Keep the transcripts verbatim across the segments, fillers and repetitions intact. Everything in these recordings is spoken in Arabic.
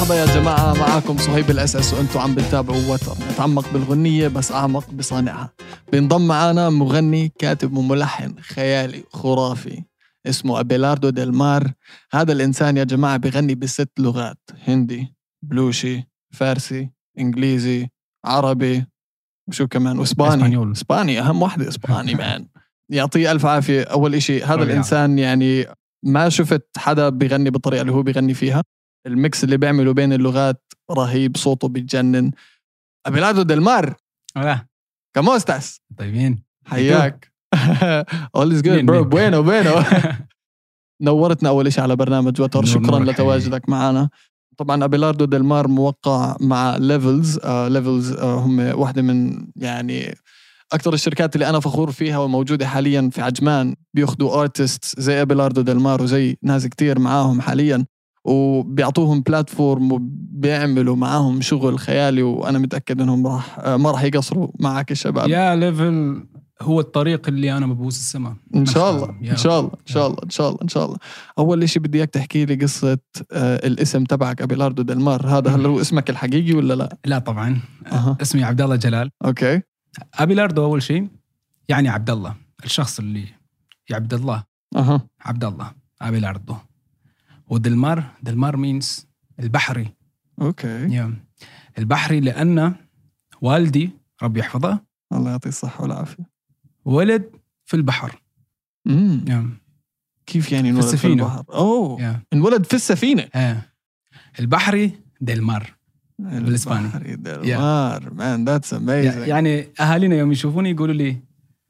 مرحبا يا جماعة، معاكم صهيب الأس أس وأنتوا عم بتتابعوا وتر، نتعمق بالغنية بس أعمق بصانعها. بينضم معنا مغني كاتب وملحن خيالي خرافي اسمه أبيلاردو ديل مار. هذا الإنسان يا جماعة بيغني بست لغات: هندي، بلوشي، فارسي، إنجليزي، عربي، وشو كمان، وإسباني. إسباني أهم واحدة، إسباني مان. يعطيه ألف عافية. أول إشي هذا الإنسان يعني ما شفت حدا بيغني بالطريقة اللي هو بيغني فيها. الميكس اللي بيعمله بين اللغات رهيب، صوته بيتجنن. أبيلاردو ديل مار. hola. ¿Cómo estás؟ طيبين. حياك. All is good bro. Bueno bueno. نورتنا أول إشي على برنامج وتر. شكرا لتواجدك معنا. طبعا أبيلاردو ديل مار موقع مع ليفلز. آه ليفلز آه هم واحدة من يعني أكثر الشركات اللي أنا فخور فيها وموجودة حاليا في عجمان. بياخدوا آرتست زي أبيلاردو ديل مار وزي ناس كتير معاهم حاليا، وبيعطوهم بلاتفورم وبيعملوا معاهم شغل خيالي، وأنا متأكد أنهم راح ما راح يقصروا معك الشباب. يا ليفل هو الطريق اللي أنا ببوس السماء إن شاء الله إن شاء الله إن شاء الله إن شاء الله إن شاء الله. أول إشي بدي إياك تحكي لي قصة آه الاسم تبعك أبيلاردو ديل مار. هذا هل هو اسمك الحقيقي ولا لا؟ لا طبعا. أه. اسمي عبد الله جلال. أوكي. أبيلاردو أول شيء يعني عبد الله، الشخص اللي يا عبد الله. أه. عبد الله أبيلاردو. وديل مار، ديل مار means البحري. أوكي. yeah. البحري لأن والدي ربي يحفظه الله يعطيه الصحة والعافية ولد في البحر. امم yeah. كيف يعني انولد في, في البحر؟ اوه yeah. انولد في السفينة. yeah. البحري ديل مار بالإسباني. البحري ديل مار. مان ذاتس اميزنج. يعني أهالينا يوم يشوفوني يقولوا لي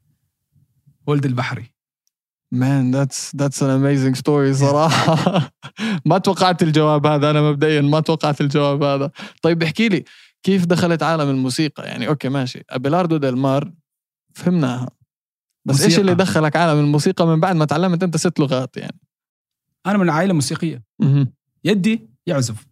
ولد البحري. مان ذاتس ذاتس ان اميزنج ستوري صراحة. ما توقعت الجواب هذا، أنا مبدئيا ما توقعت الجواب هذا. طيب احكي لي كيف دخلت عالم الموسيقى؟ يعني أوكي ماشي أبيلاردو ديل مار فهمناها، بس موسيقى. إيش اللي دخلك عالم الموسيقى من بعد ما تعلمت أنت ست لغات؟ يعني أنا من عائلة موسيقية. م- يدي يعزف،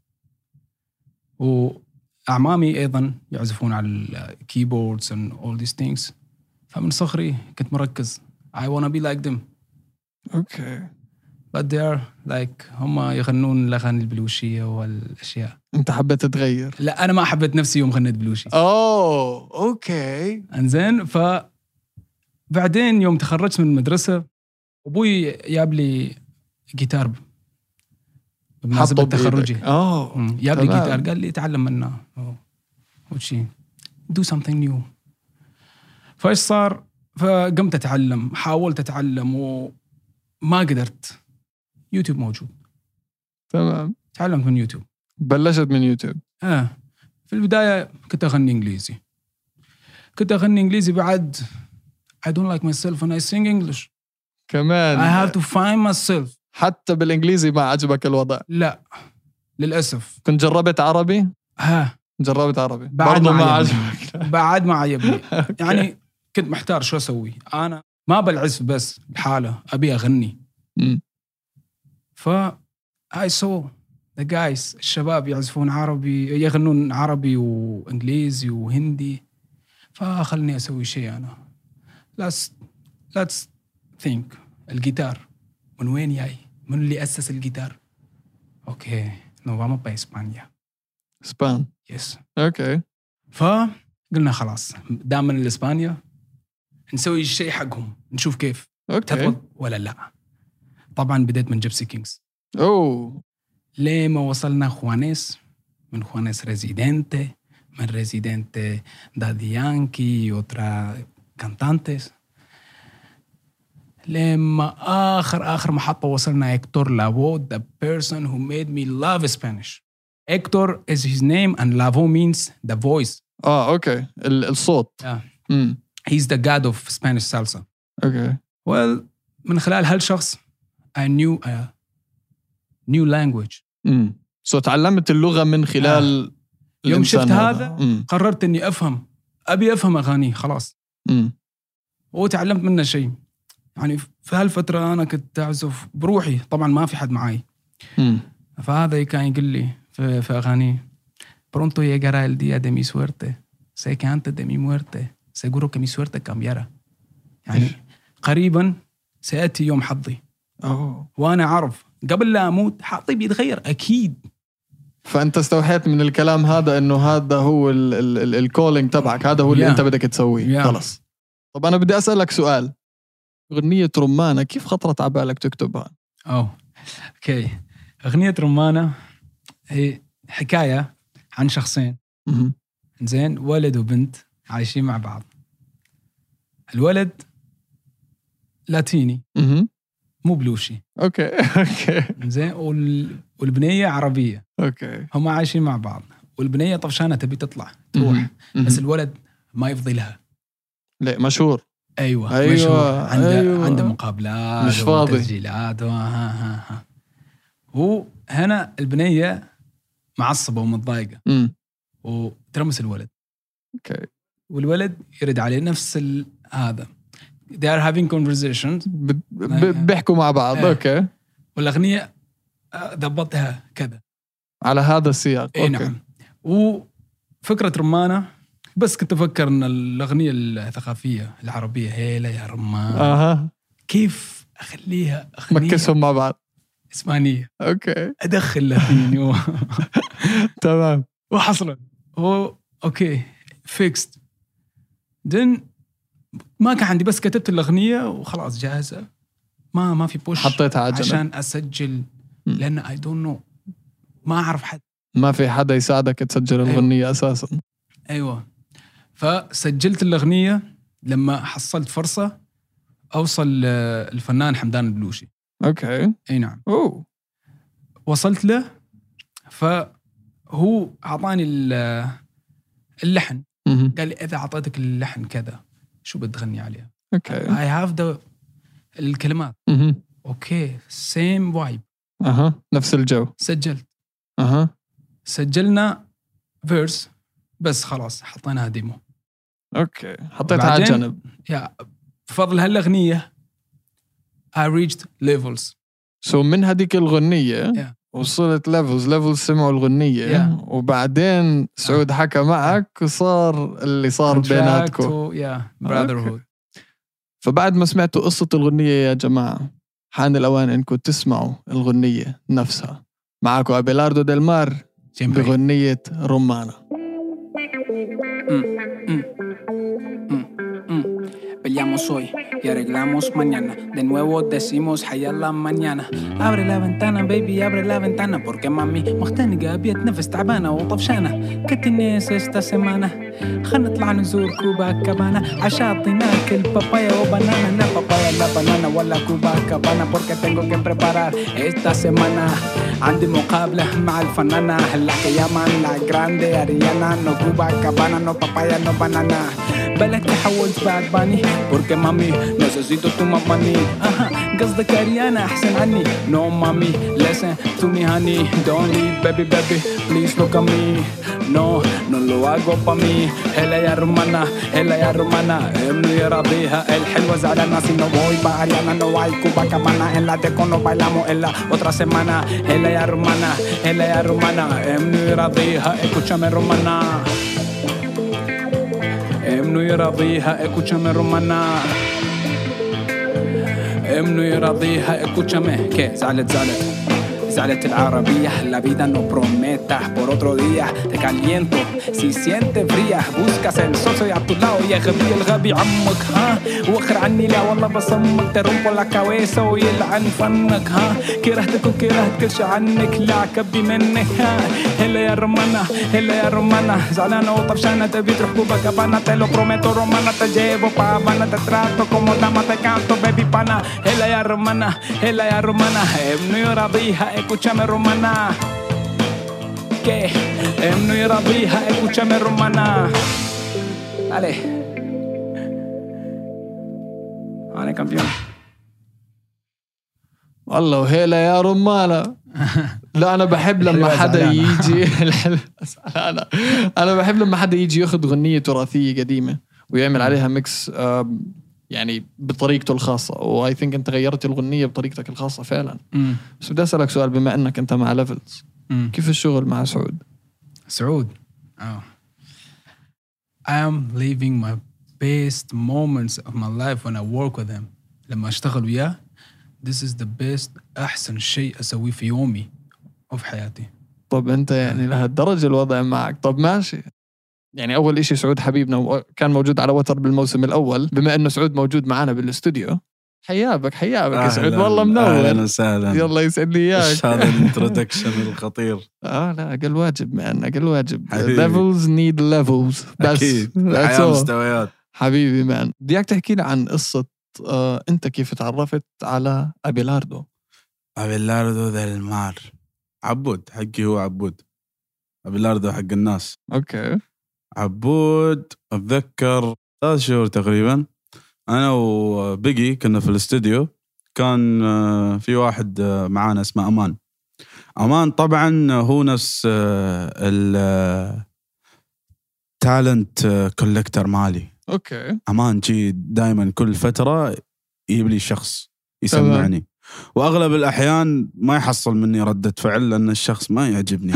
وأعمامي أيضا يعزفون على الكيبوردز and all these things. فمن صغري كنت مركز I wanna be like them. أوكي. but they are like هم يغنون الأغاني البلوشية والأشياء. أنت حبيت تغير؟ لا أنا ما حبيت نفسي يوم غنيت بلوشي. أوه أوكي. أنزين فبعدين يوم تخرجت من المدرسة أبوي جاب لي جيتار بمناسبة تخرجي. أوه جاب لي جيتار قال لي تعلم منه وشي do something new. فإيش صار؟ فقمت أتعلم، حاولت أتعلم وما قدرت. يوتيوب موجود. تمام. تعلمت من يوتيوب. بلشت من يوتيوب. آه في البداية كنت أغني إنجليزي. كنت أغني إنجليزي بعد I don't like myself when I sing English. كمان. I have to find myself. حتى بالإنجليزي ما عجبك الوضع؟ لا للأسف. كنت جربت عربي؟ ها. جربت عربي. بعد ما, ما عجبك؟ بعد ما عجبني. يعني كنت محتار شو أسوي. أنا ما بالعزف بس الحالة أبي أغني. م. ف I saw the guys الشباب يعزفون عربي، يغنون عربي وإنجليزي وهندي، فخلني أسوي شيء أنا. let's let's think الجيتار من وين جاي؟ من اللي أسس الجيتار؟ أوكي نو vamos para España. إسبان. يس. أوكي. فقلنا خلاص دام من إسبانيا نسوي الشيء حقهم نشوف كيف تضبط ولا لا. طبعا بديت من جيبسي كينجز. أوه. ليه ما وصلنا خوانيس، من خوانيس ريزيدنتي، من ريزيدنتي دادي يانكي وترا كانتانتس، لما آخر آخر محطة وصلنا إكتور لافو, the person who made me love Spanish. Hector is his name and Lavo means the voice. آه أوكي الصوت. Yeah. Mm. He's the god of Spanish salsa. Okay. Well من خلال هالشخص I knew a new language. Mm. So تعلمت اللغة من خلال آه. يوم شفت هذا mm. قررت إني أفهم، أبي أفهم أغاني خلاص. mm. وتعلمت منه شيء. يعني في هالفترة أنا كنت أعزف بروحي، طبعا ما في حد معي. mm. فهذا كان يقول لي في, في أغاني pronto llegará el día de mi suerte, sé que antes de mi muerte seguro que mi suerte cambiará. يعني قريبا سيأتي يوم حظي. أوه. وأنا أعرف قبل لا أموت حظي بيتغير أكيد. فأنت استوحيت من الكلام هذا إنه هذا هو الكولينج تبعك، هذا هو اللي Yeah. أنت بدك تسويه. Yeah. خلص. طب أنا بدي أسألك سؤال، أغنية رمانة كيف خطرت على بالك تكتبها؟ أوه أوكي. أغنية رمانة هي حكاية عن شخصين مهم. زين، ولد وبنت عايشين مع بعض. الولد لاتيني مهم. مو بلوشي، أوكي أوكي زين، وال... والبنية عربية. أوكي. هم عايشين مع بعض، والبنية طفشانة تبي تطلع تروح، مهم. مهم. بس الولد ما يفضي لها. ليه مشهور؟ أيوة, أيوة. مشهور، عنده أيوة. عنده مقابلات مش فاضي. وتسجيلات و... ها ها ها. وهنا البنية معصبة ومتضايقة مم. وترمس الولد. أوكي. والولد يرد عليه نفس ال... هذا they are having conversations ب- ب- بيحكوا مع بعض. إيه. أوكي. والأغنية آه، ضبطها كذا. على هذا السياق. اي نعم. وفكرة رمانة بس كنت أفكر أن الأغنية الثقافية العربية هيلا يا رمان أها. كيف أخليها أغنية مكسهم مع بعض. إسبانية، أوكي. أدخل لاتيني و... تمام. وحصلت هو أوكي فيكست. دن ما كان عندي، بس كتبت الأغنية وخلاص جاهزة، ما ما في بوش حطيتها على جنب. عشان أسجل، لأن I don't know، ما أعرف حد، ما في حدا يساعدك تسجل الأغنية. أيوة. أساسا. أيوة. فسجلت الأغنية لما حصلت فرصة أوصل الفنان حمدان البلوشي. أوكي. أي نعم. أوه. وصلت له، فهو أعطاني اللحن. مهم. قال لي إذا أعطيتك اللحن كذا شو بتغني عليها؟ أوكي. I have the الكلمات. مهم. أوكي same vibe. أها. نفس الجو. سجلت. أها. سجلنا فيرس بس خلاص حطيناها ديمو. أوكي. حطيتها على وبعدين- جنب. يا بفضل هالأغنية I reached levels. سو من هذيك الغنية Yeah. وصلت ليفلز ليفلز سمعوا الغنية. Yeah. وبعدين سعود حكى معك وصار اللي صار Contract بيناتكم. و- yeah brotherhood. فبعد ما سمعتوا قصة الغنية يا جماعة، حان الأوان إنكم تسمعوا الغنية نفسها. معكم أبيلاردو ديل مار Siempre. بغنية رمانة. Peleamos hoy y arreglamos mañana. De nuevo decimos hayá la mañana. Abre la ventana baby, abre la ventana. Porque mami مختنقة بيتنفس تعبانة وطفشانة. كتنيس esta semana. خلنا نطلع نزور كوبا كابانا. عشاطي ناكل بابايا وبنانا. لا بابايا لا بنانا ولا كوبا كابانا. Porque tengo que preparar esta semana. عندي مقابلة مع الفنانة la que llaman la grande Ariana. No Cuba Cabana, no papaya, no banana. بالك تحولت بعد باني porque mami necesito tu money. أها قصدك أريانا أحسن عني. No mami listen to me honey. Don't leave baby baby please look at me. No no lo hago pa' mí. هلا يا رمانة هلا يا رمانة ابني يراضيها الحلوة زعلانة. Si no voy pa' Ariana no hay Cuba Cabana. En la teco no bailamos en la otra semana. هلا يا رمانة هلا يا رمانة ابني يراضيها escúchame رمانة. ابنه يراضيها escúchame romana. ابنه يراضيها escúchame. ¿Qué? زعلت زعلت زعلت العربية. La vida no prometa por otro día. Te caliento si sientes fría. Buscas el socio a tu lado يا غبي الغبي عمك ها. وخر عني لا والله بصمك. te rompo la cabeza ويلعن فنك ها. كرهتك وكرهت كل شي عنك. لا كبي منك ها. هلا يا رمانة هلا يا رمانة زعلانة وطفشانة تبي تروح كوبا كابانا. te lo prometo romana te llevo pa' Habana. te trato como dama te canto baby pana. هلا يا رمانة هلا يا رمانة ابنه يراضيها escúchame romana. ¿Qué? ابنه يراضيها escúchame romana. Dale. أنا كامبيون. والله وهيلا يا رمانة. لا أنا بحب لما حدا يجي أنا أنا بحب لما حدا يجي يأخذ غنية تراثية قديمة ويعمل عليها ميكس يعني بطريقته الخاصة. و I think أنت غيرت الغنية بطريقتك الخاصة فعلا. مم. بس بدي أسألك سؤال، بما أنك أنت مع ليفلز، مم. كيف الشغل مع سعود؟ سعود oh. I am living my best moments of my life when I work with him. لما أشتغل وياه this is the best أحسن شيء أسويه في يومي وفي حياتي. طب انت يعني لهالدرجة الوضع معك. طب ماشي، يعني اول اشي سعود حبيبنا وكان موجود على وتر بالموسم الاول، بما انه سعود موجود معنا بالاستوديو، حيابك حيابك يا سعود، والله منور. اهلا وسهلا. يلا يسعد لي اياك. ايش هذا الانترودكشن الخطير؟ اه لا اقل واجب مان، اقل واجب. حبيبي. levels need levels. بس اكيد that's حياة all. مستويات. حبيبي مان، بدي اياك تحكي لي عن قصة آه انت كيف تعرفت على أبيلاردو. أبيلاردو del mar. عبود حقي هو عبود، أبيلاردو حق الناس. اوكي. عبود أتذكر ثلاث شهور تقريبا، أنا وبيجي كنا في الاستوديو، كان في واحد معانا اسمه أمان. أمان طبعا هو نفس التالنت كولكتر مالي. اوكي. أمان جي دايما كل فترة يجيب لي شخص يسمعني، واغلب الاحيان ما يحصل مني ردة فعل لان الشخص ما يعجبني.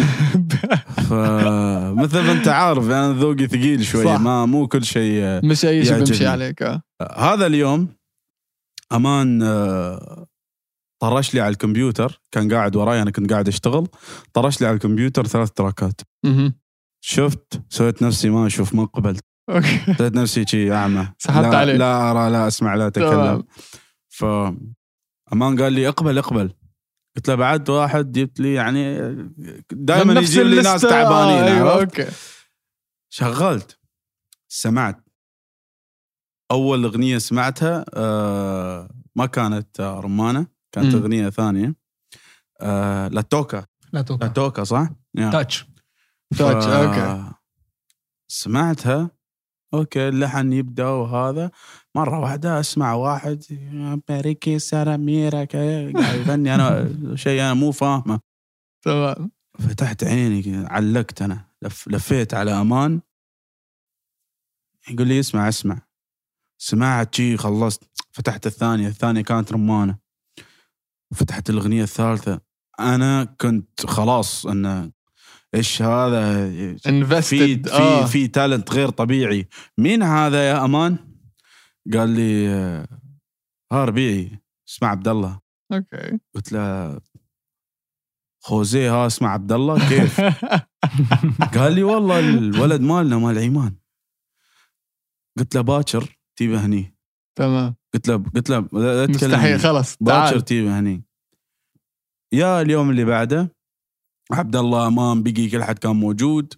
فمثل ما انت عارف انا يعني ذوقي ثقيل شوي، صح. ما مو كل شيء مش اي شيء بمشي عليك. آه. هذا اليوم امان طرش لي على الكمبيوتر، كان قاعد وراي انا كنت قاعد اشتغل، طرش لي على الكمبيوتر ثلاث تراكات. شفت سويت نفسي ما اشوف، ما قبلت. سويت نفسي شيء اعمى، سحبت عليه، لا ارى لا اسمع لا اتكلم. ف أمان قال لي اقبل اقبل، قلت له بعد واحد جبت لي يعني دائما يجيب لي ناس تعبانين. أيوة أوكي. شغلت سمعت أول أغنية سمعتها آه ما كانت آه رمانة، كانت م. أغنية ثانية آه لا توكا لا توكا لا توكا صح؟ تاتش تاتش أوكي. سمعتها أوكي، اللحن يبدأ وهذا، مرة واحدة أسمع واحد باريكي ساراميرا قاعد يغني أنا شيء أنا مو فاهمه. تمام. فتحت عيني علقت أنا، لف لفيت على أمان يقول لي اسمع اسمع، سمعت شيء خلصت، فتحت الثانية، الثانية كانت رمانة، فتحت الأغنية الثالثة. أنا كنت خلاص أن إيش هذا invested. في في آه. في تالنت غير طبيعي. مين هذا يا أمان؟ قال لي ها ربيعي اسمع عبد الله. اوكي. قلت له خوزي ها اسمع عبد الله كيف؟ قال لي والله الولد مالنا مال عيمان. قلت له باكر تيبه هني. تمام. قلت له قلت له مستحيل خلص باكر تيبه هني. يا اليوم اللي بعده عبد الله أمام بيجي كل حد كان موجود،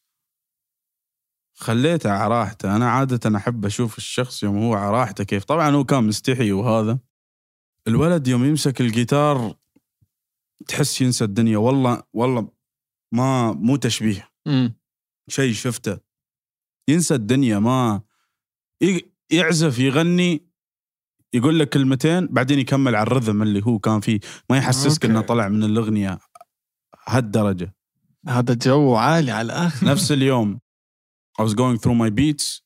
خليته على راحته. أنا عادة أحب أشوف الشخص يوم هو على راحته كيف. طبعا هو كان مستحي وهذا. الولد يوم يمسك الجيتار تحس ينسى الدنيا. والله والله ما مو تشبيه، شيء شفته. ينسى الدنيا، ما يعزف يغني يقول لك كلمتين بعدين يكمل على الرذم اللي هو كان فيه، ما يحسسك إنه طلع من الأغنية هالدرجة. هذا جو عالي على الآخر. نفس اليوم I was going through my beats،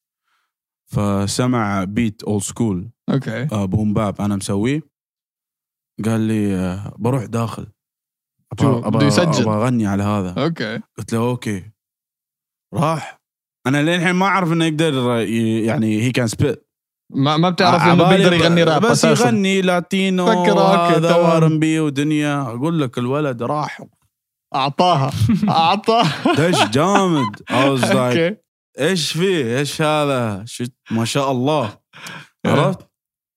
فسمع beat old school اوكي آه بوم باب انا مسويه، قال لي آه بروح داخل ابغى ابغى ابغى اغني على هذا. اوكي قلت له اوكي. راح. انا لين الحين ما اعرف انه يقدر يعني هي كان سبيت، ما ما بتعرف انه بيقدر يغني راب بس يغني لاتينو هذا وارنبي ودنيا. اقول لك الولد راح اعطاها اعطاه دش جامد. I was like ايش فيه ايش هذا شت ما شاء الله. عرفت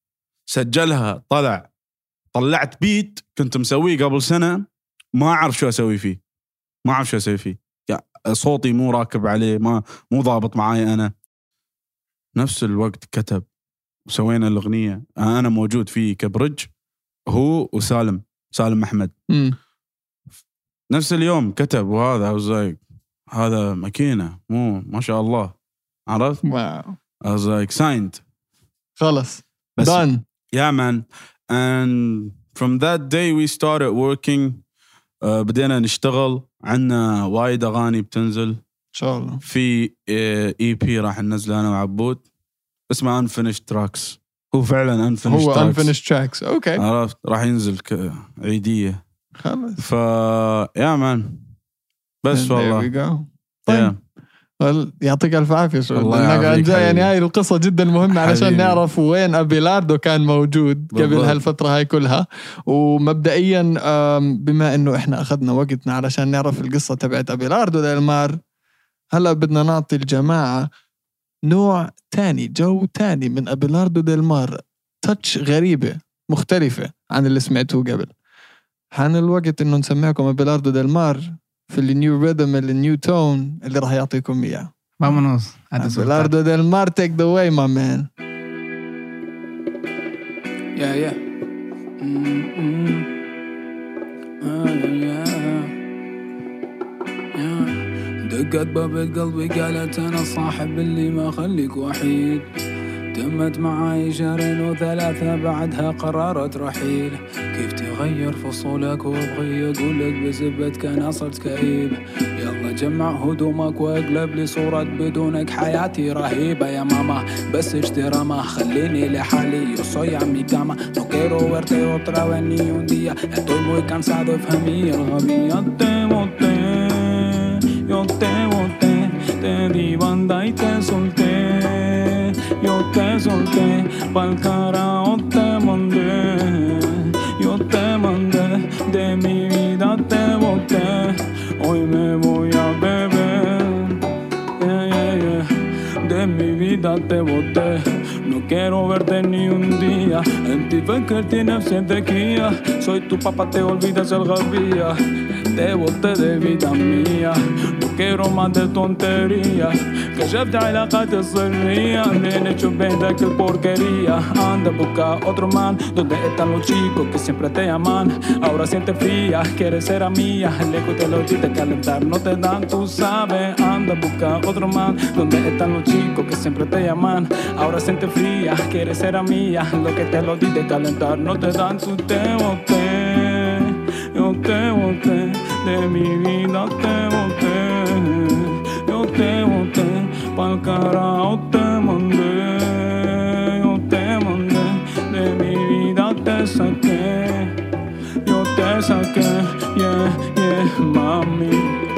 سجلها طلع طلعت بيت كنت مسويه قبل سنة ما أعرف شو أسوي فيه، ما أعرف شو أسوي فيه يعني صوتي مو راكب عليه، ما مو ضابط معاي. أنا نفس الوقت كتب وسوينا الأغنية، أنا موجود فيه كبرج هو وسالم سالم أحمد م. نفس اليوم كتب وهذا وزاي هذا ماكينة مو ما شاء الله. عرفت واو I was like signed خلص بس done yeah man. and from that day we started working. uh, بدينا نشتغل. عنا وايد أغاني بتنزل إن شاء الله. في اي بي راح ننزله أنا وعبود اسمه unfinished tracks. هو فعلا unfinished هو tracks. unfinished tracks اوكي عرفت راح ينزل عيدية خلص. ف yeah man بس والله طيب yeah. يعطيك الف عافيه. شو الله يعافيك يعني هاي القصه جدا مهمه علشان حبيبي. نعرف وين أبيلاردو كان موجود قبل بالضبط. هالفتره هاي كلها. ومبدئيا بما انه احنا اخذنا وقتنا علشان نعرف القصه تبعت أبيلاردو ديل مار، هلا بدنا نعطي الجماعه نوع تاني، جو تاني من أبيلاردو ديل مار، تاتش غريبه مختلفه عن اللي سمعتوه قبل. حان الوقت انه نسمعكم أبيلاردو ديل مار في النيو ريذم النيو تون اللي راح يعطيكم اياه. Vámonos. أبيلاردو ديل مار take the way my man. Yeah, yeah. Mm-hmm. Ah, yeah, yeah. دقت باب قلبي قالت أنا صاحب اللي ما خليك وحيد. تمت معاي شهرين وثلاثة بعدها قررت رحيل. كيف تغير فصولك وابغي اقولك بزبتك انا صرت كئيب. يلا جمع هدومك واقلب لي صورة بدونك حياتي رهيبة يا ماما بس اشترى ما خليني لحالي. Yo soy a mi cama, no quiero verte otra vez ni un día. Estoy muy cansado de familia الغبية. Te boté, yo te boté, te di banda y te solté. Yo te solté, pa'l carajo te mandé. Yo te mandé, de mi vida te boté. Hoy me voy a beber, yeah, yeah, yeah. De mi vida te boté. No quiero verte ni un día. En ti فكرتي نفسي ذكية. Soy tu papá, te olvidas الغبية. Te boté de vida mía. No quiero más de tonterías. كشفت علاقات السرية. Nene, hecho ven que porquería. Anda a buscar otro man. Donde están los chicos que siempre te aman. Ahora siente fría, quieres ser amiga. Lejos te lo diste calentar, no te dan, tú sabes. Anda a buscar otro man. Donde están los chicos que siempre te aman. Ahora siente fría, quieres ser amiga. Lo que te lo diste calentar, no te dan, tú te boté. Yo te boté, de mi vida te boté. Yo te boté, pa'l carajo te mandé. Yo te mandé, de mi vida te saqué. Yo te saqué, yeah, yeah, mami.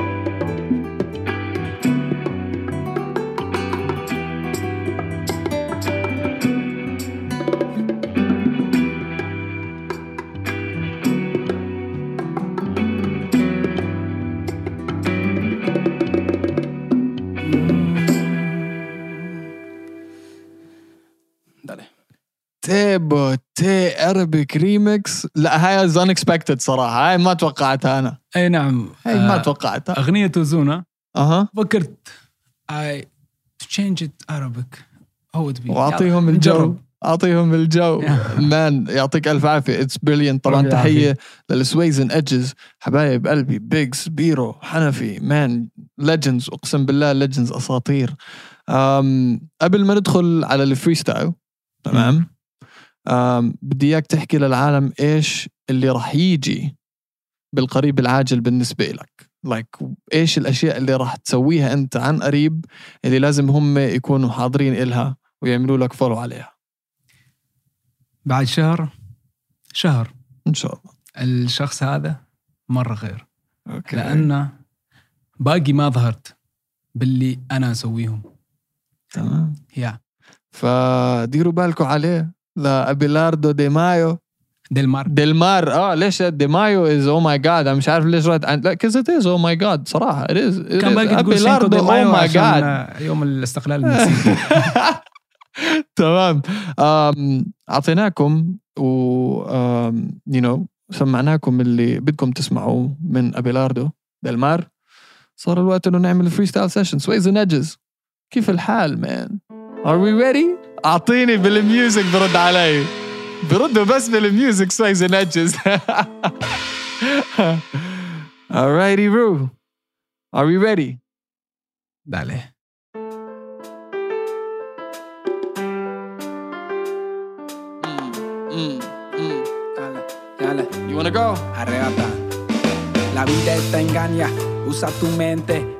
تيبو تي أربك ريمكس. لا هاي از unexpected صراحة، هاي ما توقعتها أنا. أي نعم، هاي ما توقعتها. أغنية توزونا. أها فكرت I to change it Arabic. هو تبي وأعطيهم الجو، أعطيهم الجو مان. يعطيك ألف عافية. It's brilliant. طبعا تحية للسويزن إدجز حبايب قلبي، بيجز بيرو حنفي مان legends، أقسم بالله legends أساطير. قبل ما ندخل على الفريستايل تمام، بدي إياك تحكي للعالم إيش اللي راح يجي بالقريب العاجل بالنسبة لك. like إيش الأشياء اللي راح تسويها أنت عن قريب اللي لازم هم يكونوا حاضرين إلها ويعملوا لك فولو عليها بعد شهر شهر إن شاء الله. الشخص هذا مرة غير. أوكي. لأنه باقي ما ظهرت باللي أنا أسويهم. تمام. يا فديروا بالكم عليه. لا أبيلاردو دي مايو ديل مار ديل مار. اه ليش دي مايو از او ماي جاد. انا مش عارف ليش رحت لا كز ات از او ماي جاد صراحه. it is it كان باقي تقول سينكو دي مايو oh عشان يوم الاستقلال المكسيكي. تمام. اعطيناكم و يو نو سمعناكم اللي بدكم تسمعوه من أبيلاردو ديل مار. صار الوقت انه نعمل فري ستايل سيشن. سويزن إدجز كيف الحال مان؟ are we ready؟ اعطيني بالميوزك برد علي. بردوا بس بالميوزك سويزن إدجز. alrighty Roo, are we ready؟ دالي mm, mm. Dale. You wanna go? Arrebata. La vida te engaña, usa tu mente.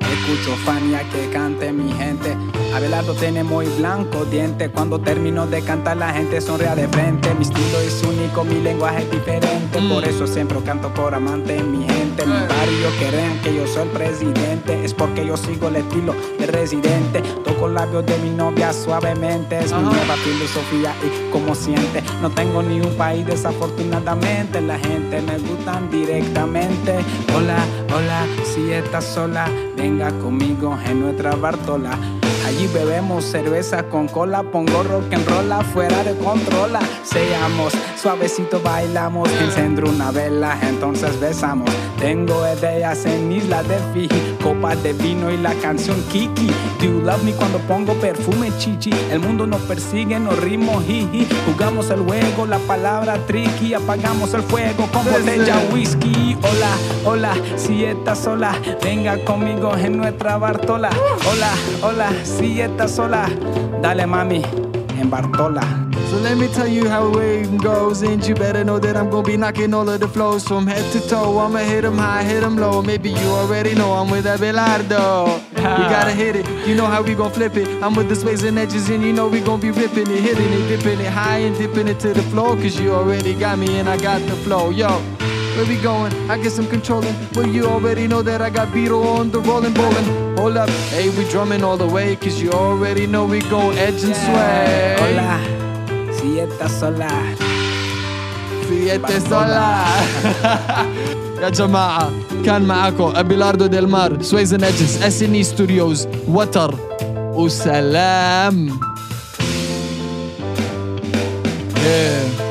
Escucho Fania que cante mi gente. Abelardo tiene muy blanco diente. Cuando termino de cantar la gente sonríe de frente. Mi estilo es único, mi lenguaje es diferente. Por eso siempre canto por amante mi gente. Mi barrio crean que yo soy el presidente. Es porque yo sigo el estilo de residente. Toco labios de mi novia suavemente. Es mi nueva filosofía y como siente. No tengo ni un país desafortunadamente. La gente me gustan directamente. Hola, hola, si estás sola, venga conmigo en nuestra Bartola. Allí bebemos cerveza con cola, pongo rock and roll fuera de controla. Seamos suavecito, bailamos, encendro una vela, entonces besamos. Tengo ideas en Isla de Fiji, copas de vino y la canción Kiki. Do you love me cuando pongo perfume chichi? El mundo nos persigue, nos ritmo jiji. Jugamos el juego, la palabra tricky. Apagamos el fuego con botella whisky. Hola, hola, si estás sola, venga conmigo en nuestra Bartola. Hola, hola, si estás sola, dale mami, en Bartola. So let me tell you how it goes, and you better know that I'm gonna be knocking all of the flows from head to toe. I'ma hit 'em high, hit 'em low. Maybe you already know I'm with Abelardo. You gotta hit it, you know how we gon' flip it. I'm with the space and edges, and you know we gon' be ripping it, hitting it, dipping it high and dipping it to the floor. Cause you already got me and I got the flow. Yo, where we going? I guess I'm controlling. Well, you already know that I got Beetle on the rolling, bowling. Hold up, hey, we drumming all the way. Cause you already know we go edge and sway. Hola, si estás sola. في اتصال. يا جماعة كان معاكم أبيلاردو ديل مار، سويز نجس، اس ان اي ستوديوز، وتر وسلام. Yeah.